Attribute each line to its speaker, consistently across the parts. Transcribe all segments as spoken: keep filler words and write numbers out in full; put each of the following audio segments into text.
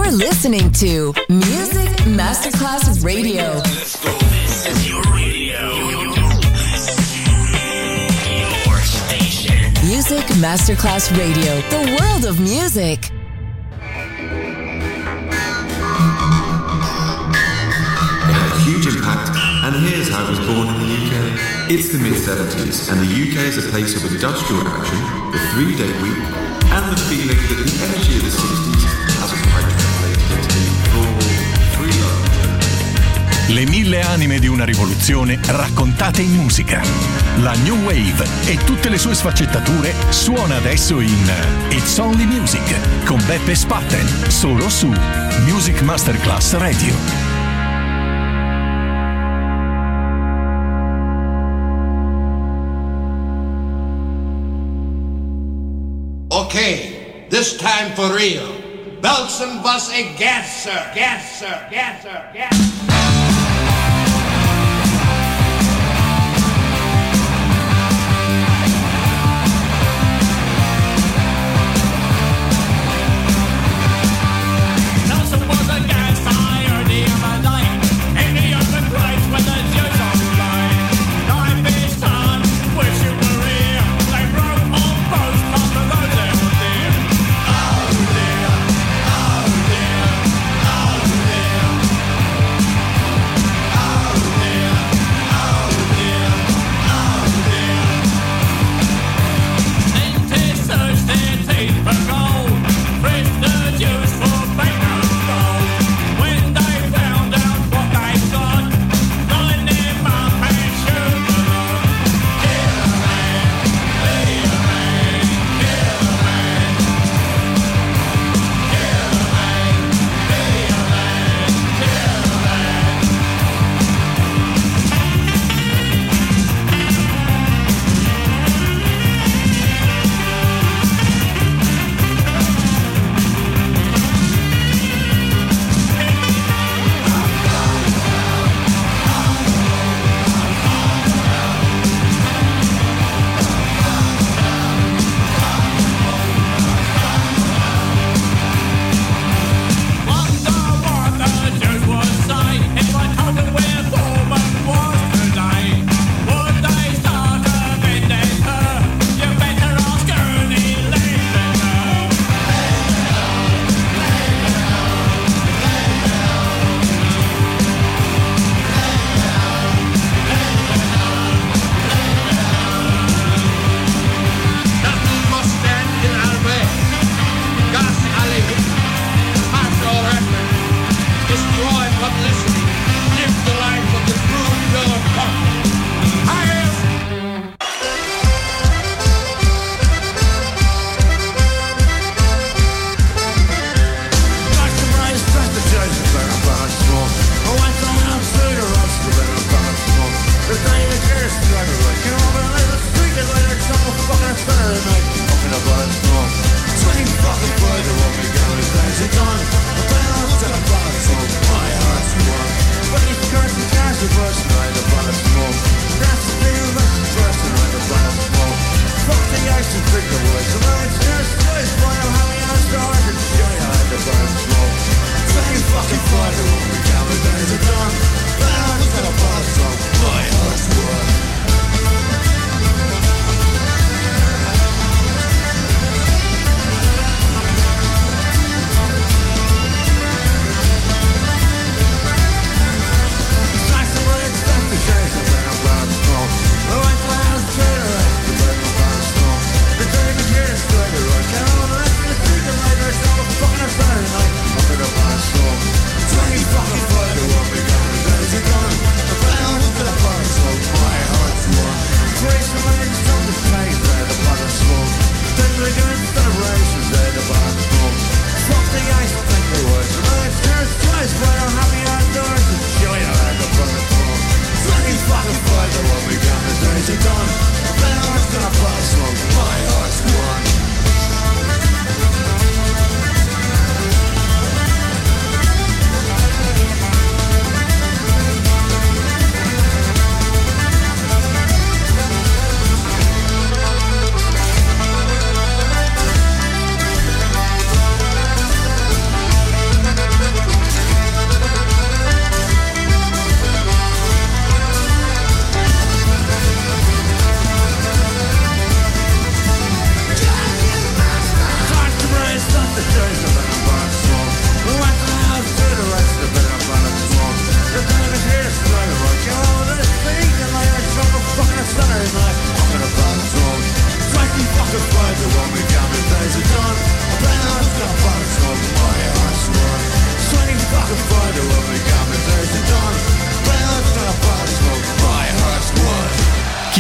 Speaker 1: You're listening to Music Masterclass Radio.
Speaker 2: Let's go. This is your radio. Your station.
Speaker 1: Music Masterclass Radio. The world of music.
Speaker 3: It had a huge impact, and here's how it was born in the U K. It's the mid seventies, and the U K is a place of industrial action, the three-day week, and the feeling that the energy of the sixties hasn't quite translated into the full free love.
Speaker 4: Le mille anime di una rivoluzione raccontate in musica. La New Wave e tutte le sue sfaccettature suona adesso in It's Only Music con Beppe Spatten, solo su Music Masterclass Radio.
Speaker 5: Okay, this time for real. Belsen was a gasser, gasser, gasser, gasser.
Speaker 6: Oh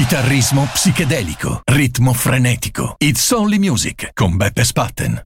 Speaker 4: Chitarrismo psichedelico, ritmo frenetico. It's Only Music con Beppe Spatten.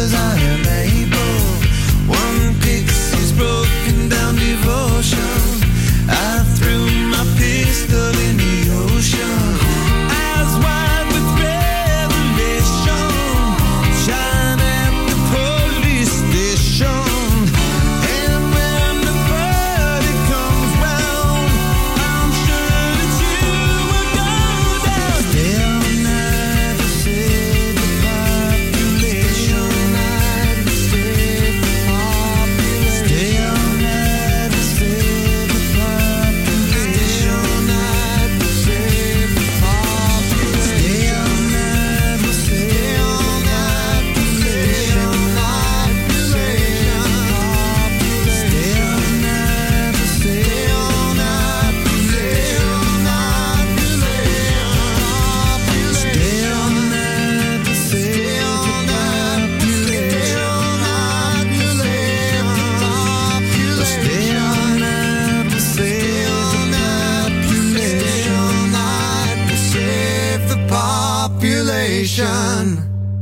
Speaker 6: as I am able. One pixie's broken down devotion. I threw my pistol in the ocean. Eyes wide with revelation. Shine at the police station. And when the verdict comes round, I'm sure that you will go down. Stay all night to save the population. Stay all night to save the population. Stay all night to save the population. Stay all night to save all night to save all night to save Stay all night to save all night to save all night to save Stay all night to save all night to save all night to save the population.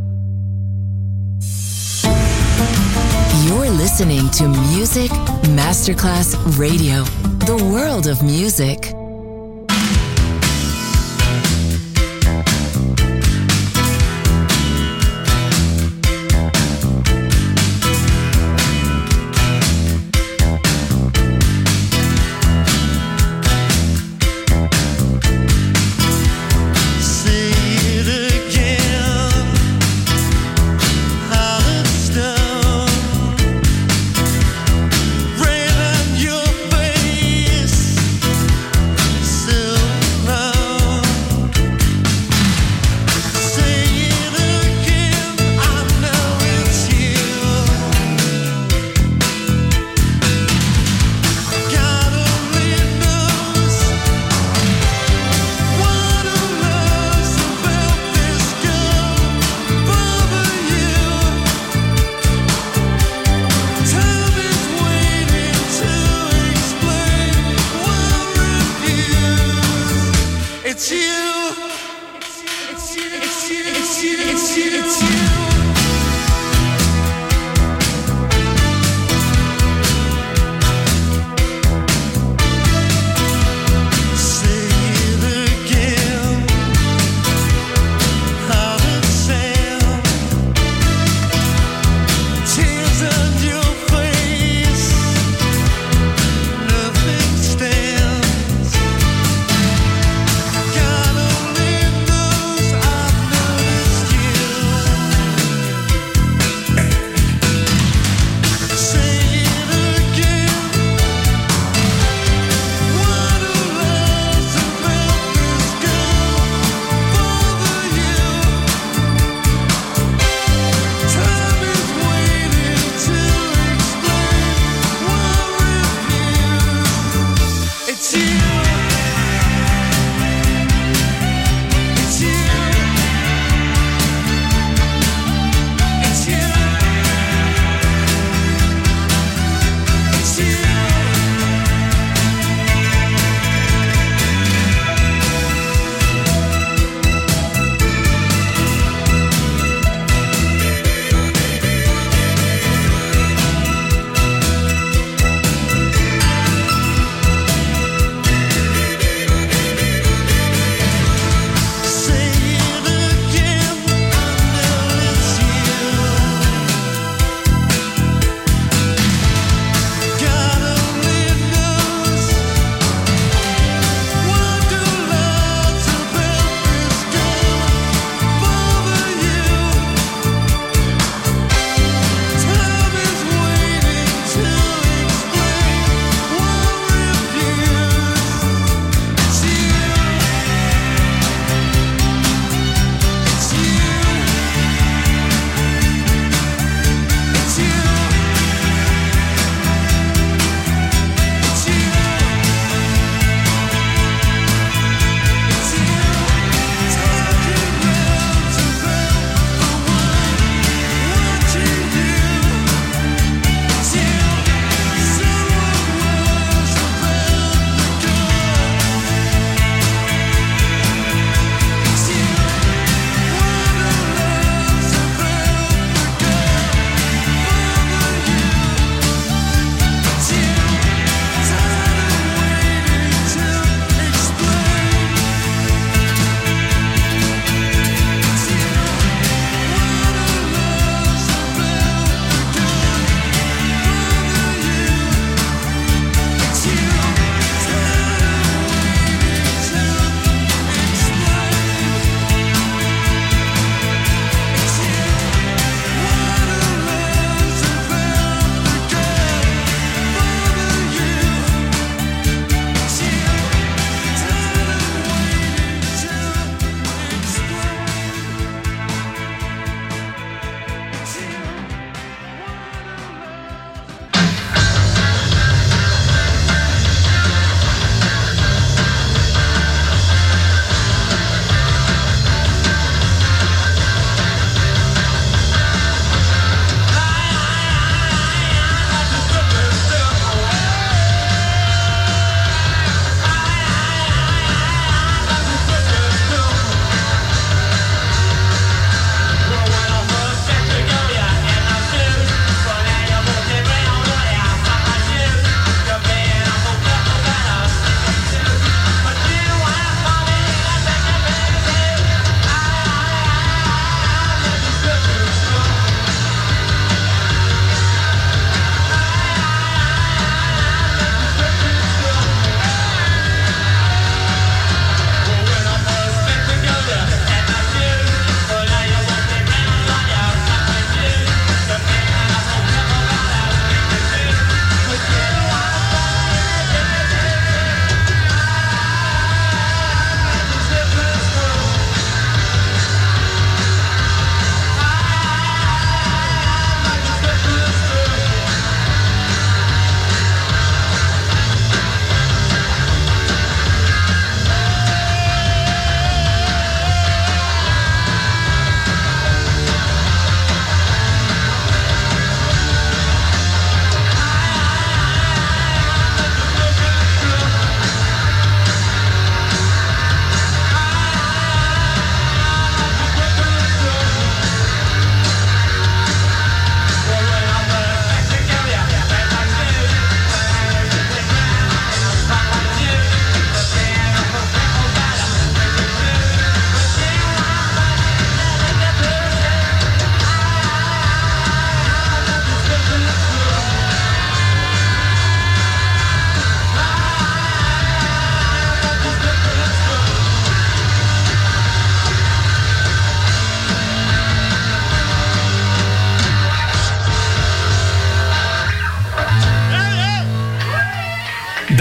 Speaker 1: You're listening to Music Masterclass Radio, the world of music.
Speaker 6: Say it again, Holland Stone. Rain on your face.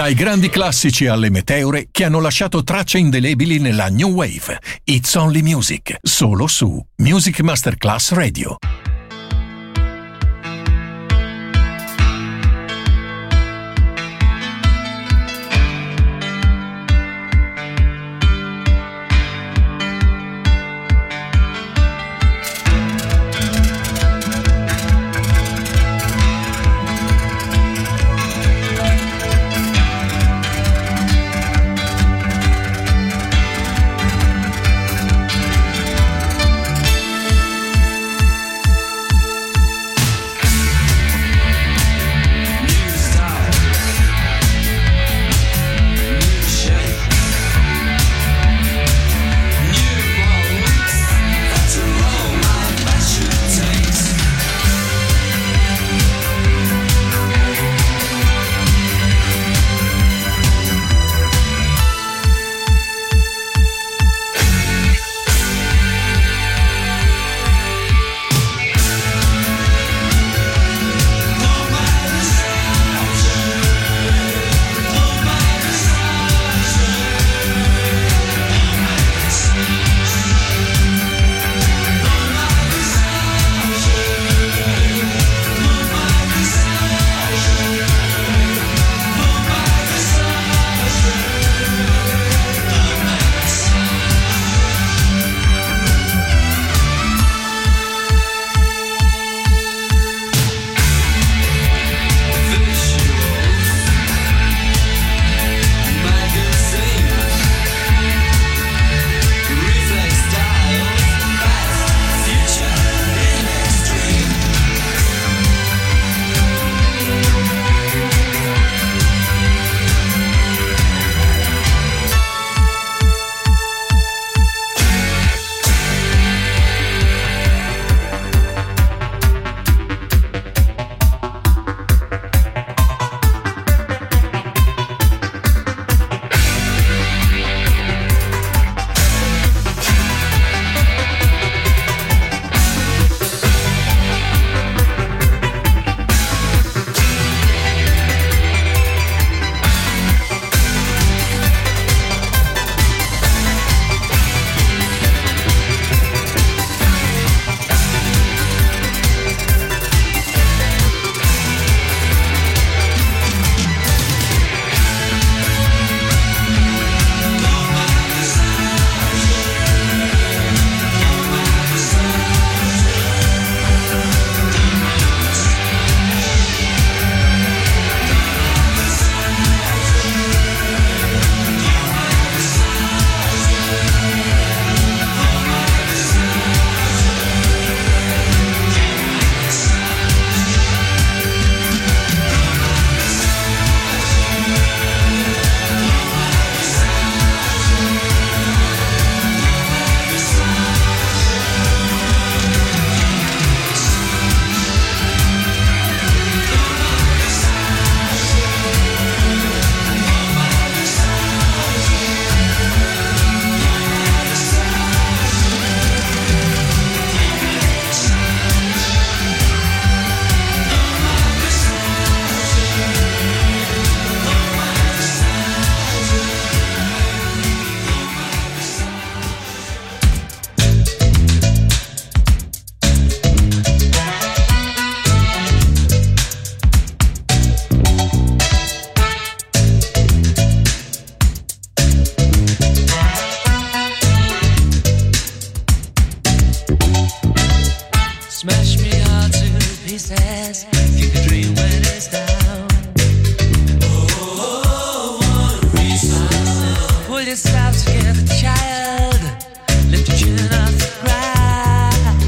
Speaker 4: Dai grandi classici alle meteore che hanno lasciato tracce indelebili nella New Wave. It's Only Music, solo su Music Masterclass Radio.
Speaker 6: pieces. You can dream when it's down. Oh, what a reason. Pull yourself together, child. Lift your chin off the ground.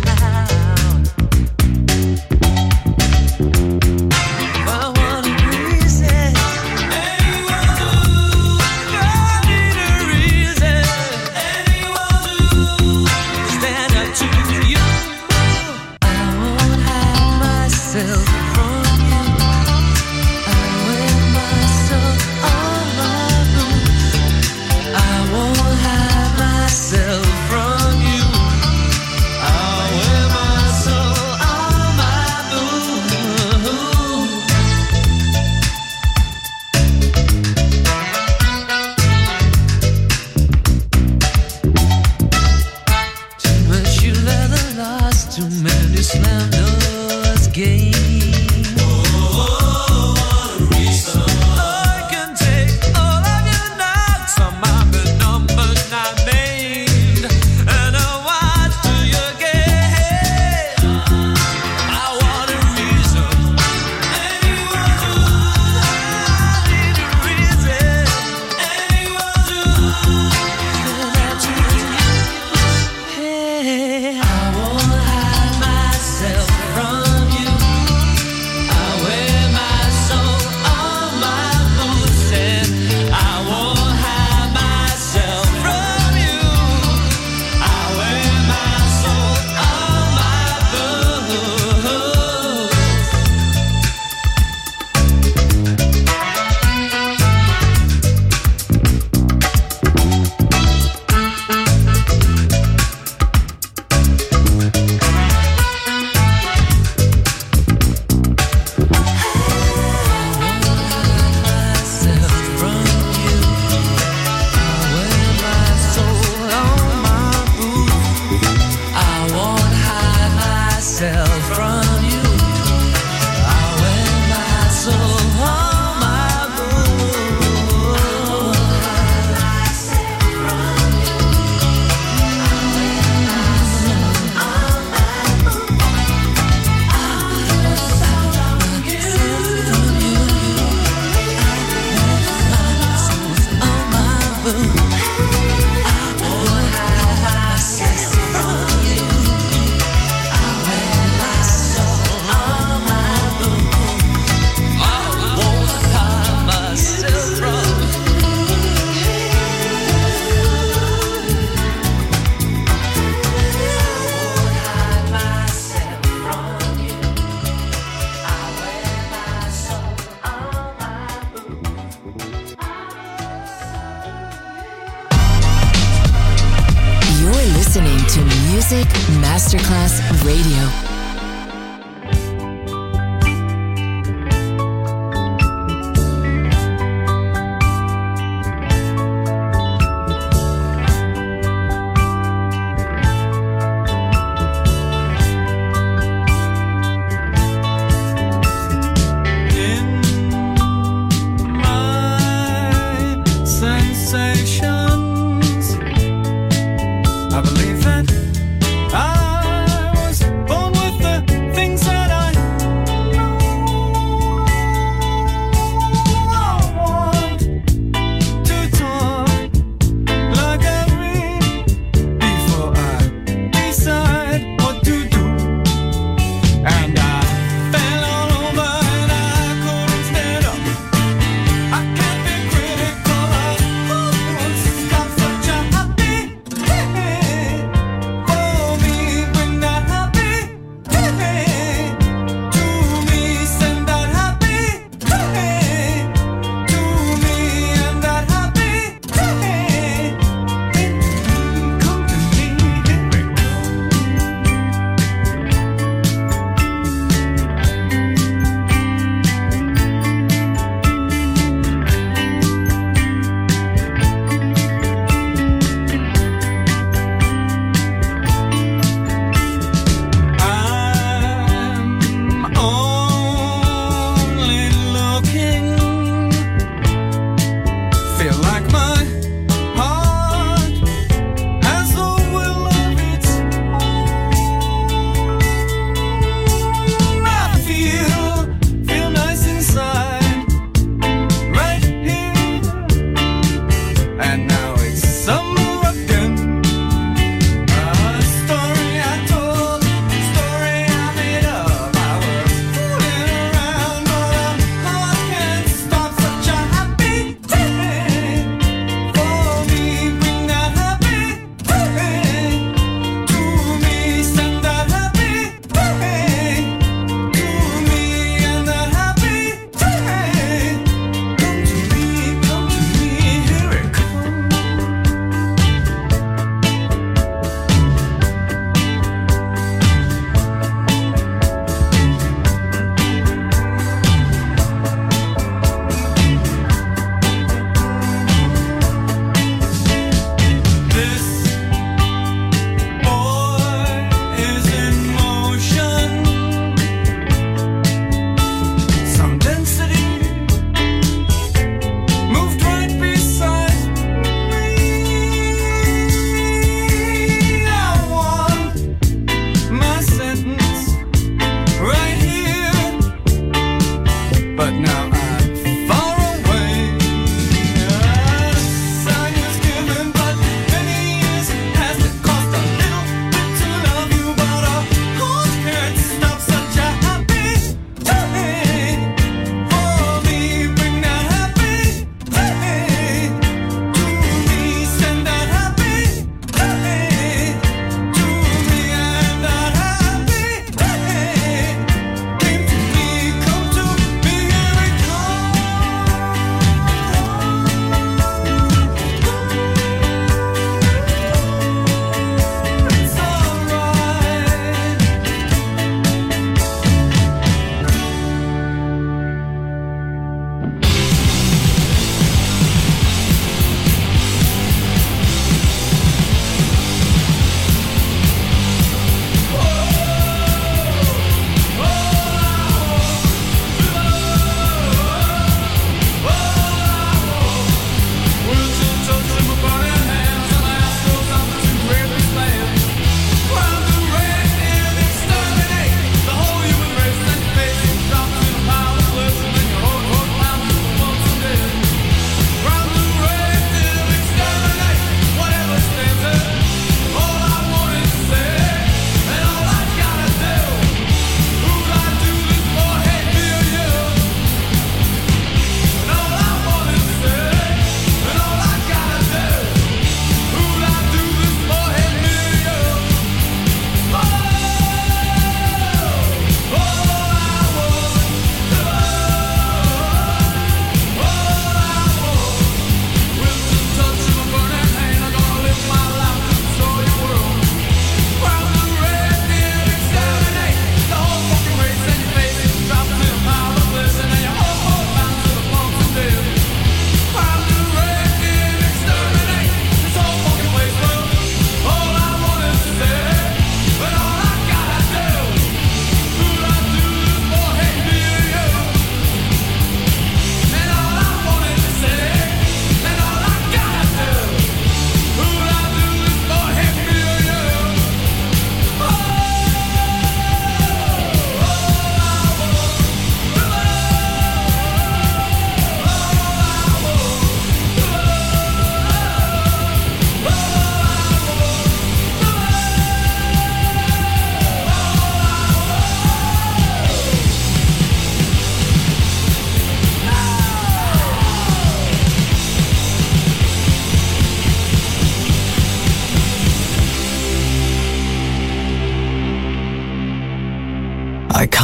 Speaker 6: For what a reason. Anyone do. I need a reason. Anyone do. Stand up to you. I won't hide myself from you. I wear myself on my boots. I won't hide myself from you. I wear myself on my boots.
Speaker 1: Music Masterclass Radio.
Speaker 6: I believe that I was born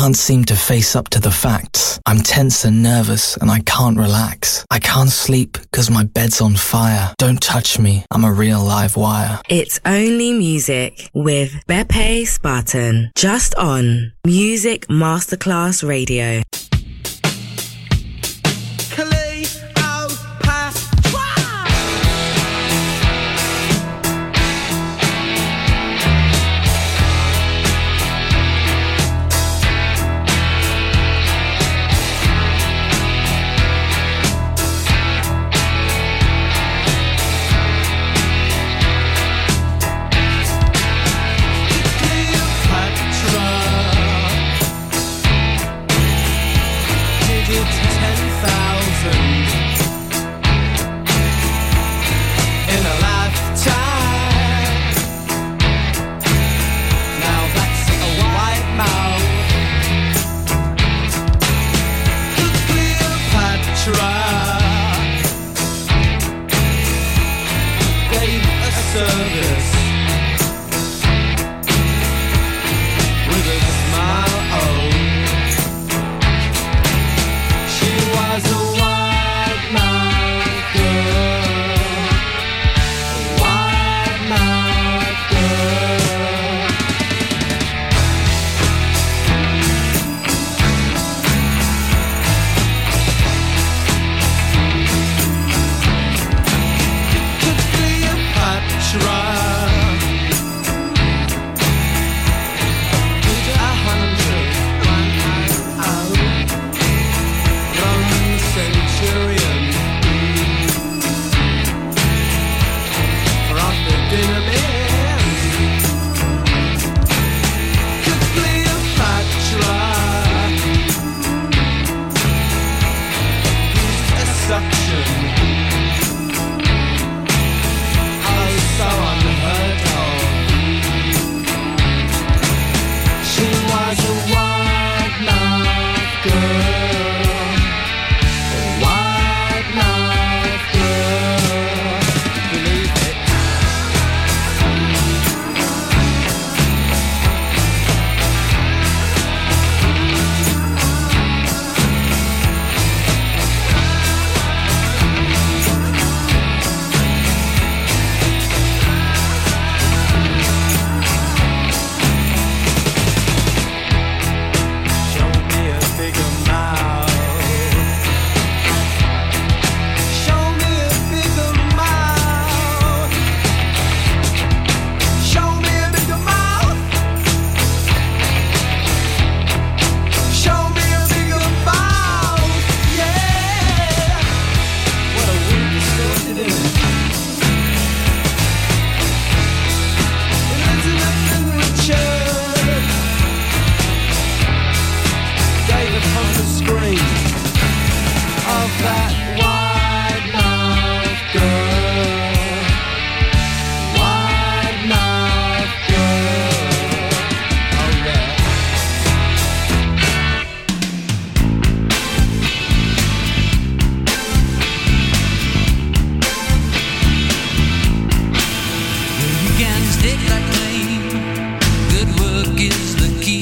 Speaker 7: can't seem to face up to the facts. I'm tense and nervous and I can't relax. I can't sleep because my bed's on fire. Don't touch me, I'm a real live wire.
Speaker 8: It's Only Music with Beppe Spartan, just on Music Masterclass Radio.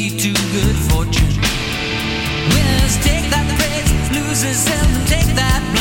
Speaker 9: Take that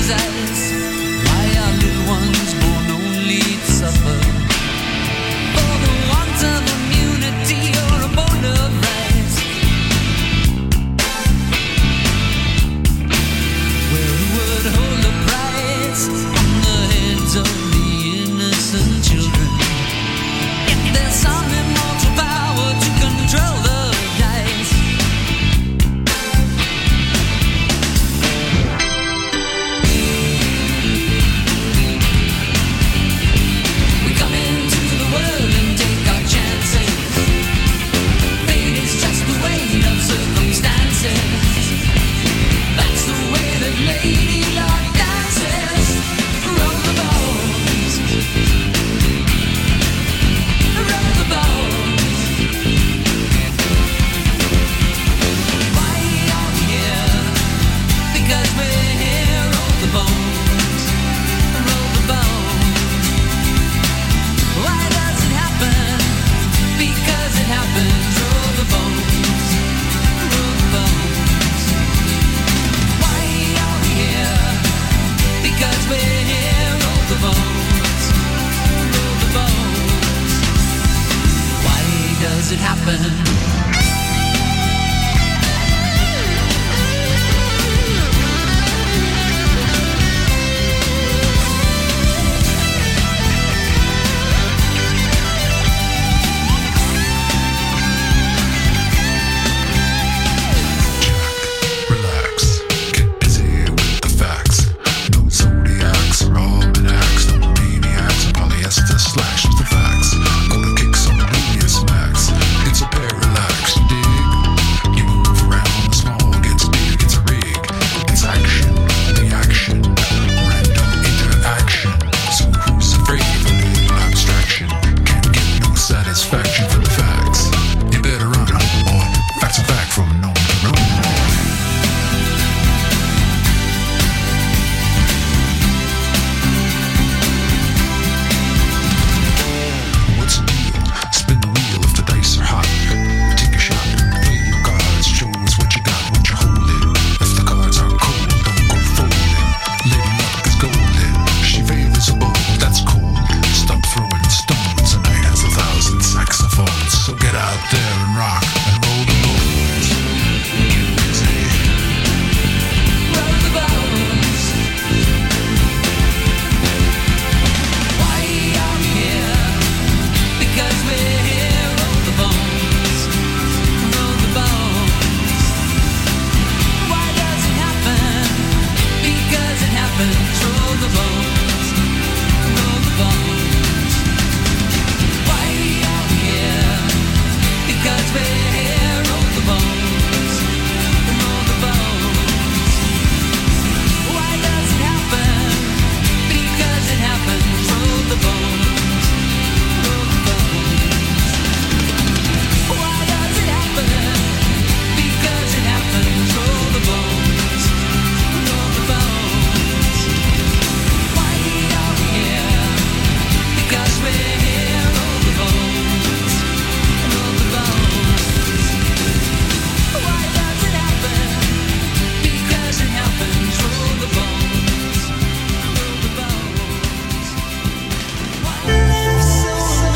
Speaker 6: mother's eyes. Why are little ones born only to suffer? For the want of immunity or a bone of rice. Well, who would hold the price on the heads of the innocent children? If there's some immortal power to control the dice. We come into the world and take our chances. Fate is just the weight of circumstances. That's the way that Lady Luck dances. Roll the bones. Roll the bones. Why are we here? Because we're here. Roll the bones. Roll the bones. Why does it happen? Because it happens. Roll the bones. Roll the bones. Why are we here? Because we're here. Roll the bones. Roll the bones. Why does it happen?
Speaker 9: Relax, get busy with the facts. No zodiacs or almanacs, no maniacs or polyester slash the facts. Gonna kick some media smacks. It's a parallax, you dig? You move around, the small gets big, it's a rig. It's action, reaction, random interaction. So who's afraid of a little abstraction? Can't get no satisfaction from the facts. You better run, homeboy. Facts are back from known to run. What's the deal? Spin the wheel if the dice are hot. Take a shot, play your cards, show us what you got, what you're holding. If the cards are cold, don't go folding. Lady Luck is golden, she favors a bowl, that's cold. Stop throwing stones, and I has a thousand saxophones. So get out there and rock and roll the bones. Get busy.
Speaker 6: Roll the bones. Why are we here? Because we're here. Roll the bones. Roll the bones. Why does it happen? Because it happens. Roll the bones. Roll the bones. Why are we here? Because we're here. Roll the bones. Roll the bones. Why does it happen? Because it happens. Roll the bones. Roll the bones. Why does it happen? Because it happens. Roll the bones. Roll the bones. Why are we here? Because we're here. Roll the bones. Roll the bones. Why does it happen? Because it happens. Roll the bones. Roll the bones. Why live so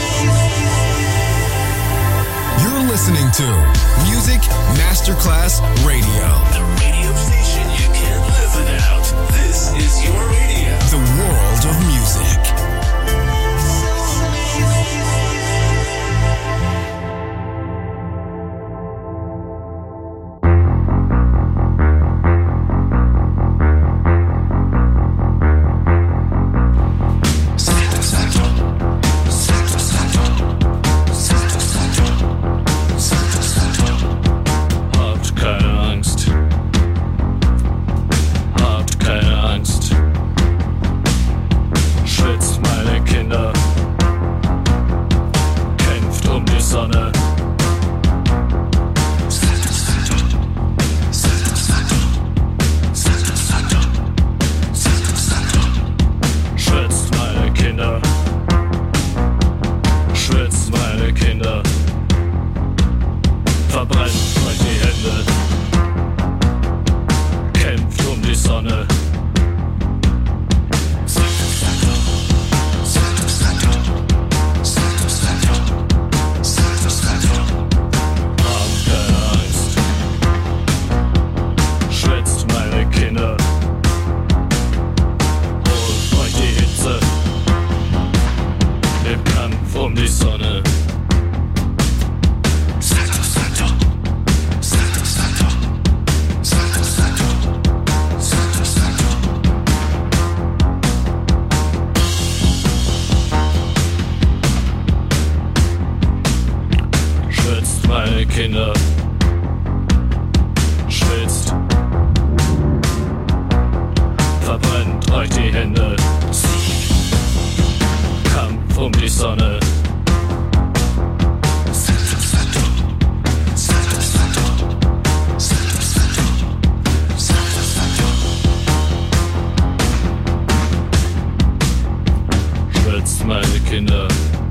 Speaker 10: You're listening to Music Masterclass Radio.
Speaker 2: The radio station you can't live without. This is your radio.
Speaker 10: The world of music.
Speaker 11: Hauptkeile Angst. Kinder.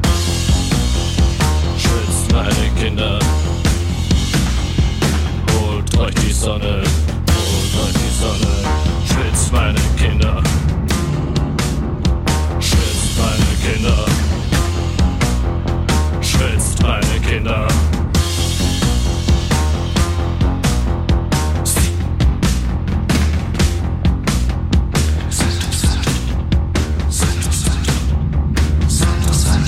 Speaker 11: Schwitzt meine Kinder. Holt euch die Sonne, holt euch die Sonne. Schwitzt meine Kinder. Schwitzt meine Kinder. Schwitzt meine Kinder.
Speaker 6: Santa, Santa, Santa, Santa, Santa, Santa,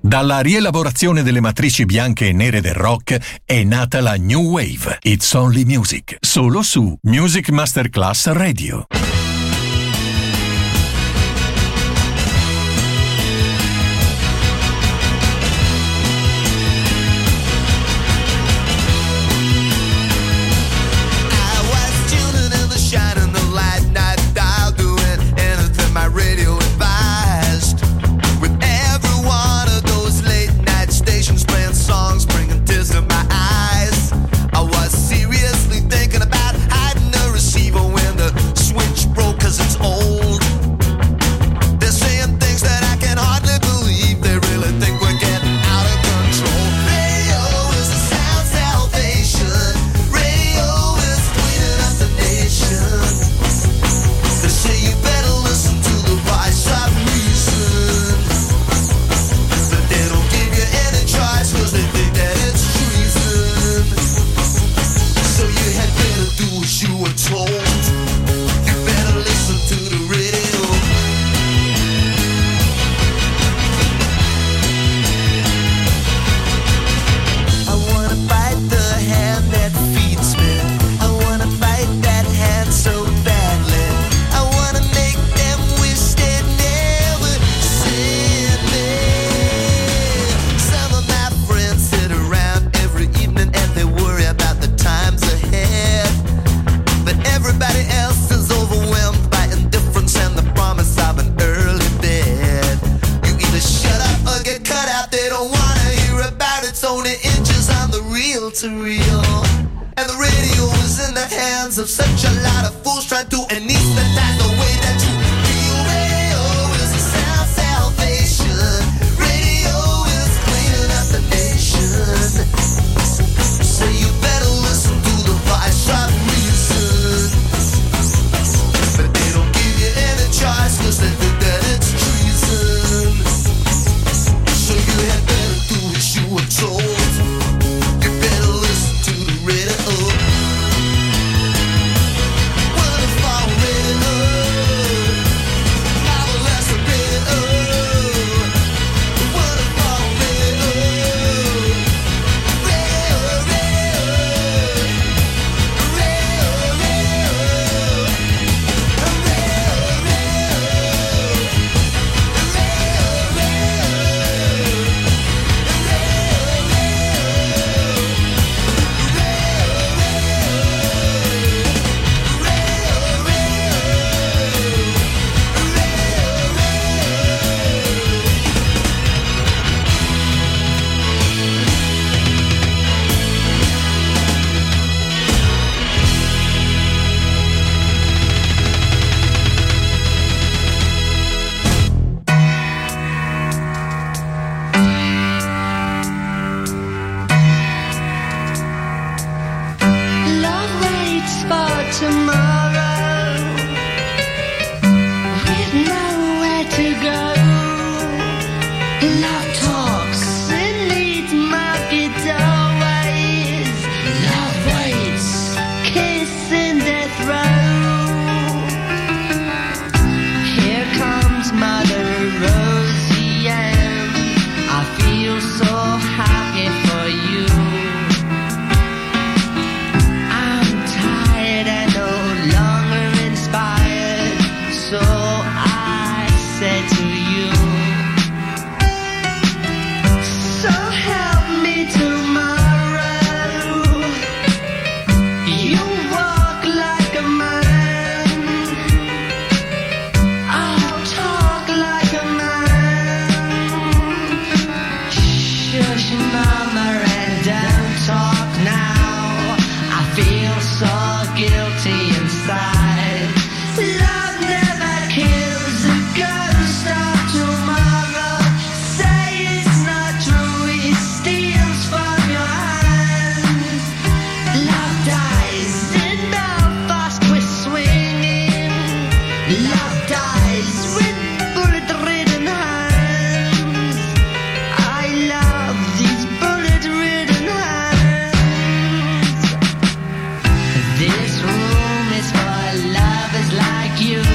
Speaker 4: Dalla rielaborazione delle matrici bianche e nere del rock è nata la New Wave. It's Only Music, solo su Music Masterclass Radio.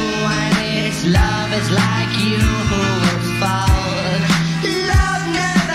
Speaker 12: Love is like you who will fall. Love never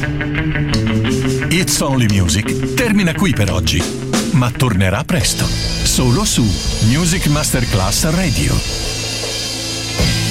Speaker 4: It's Only Music termina qui per oggi, ma tornerà presto, solo su Music Masterclass Radio.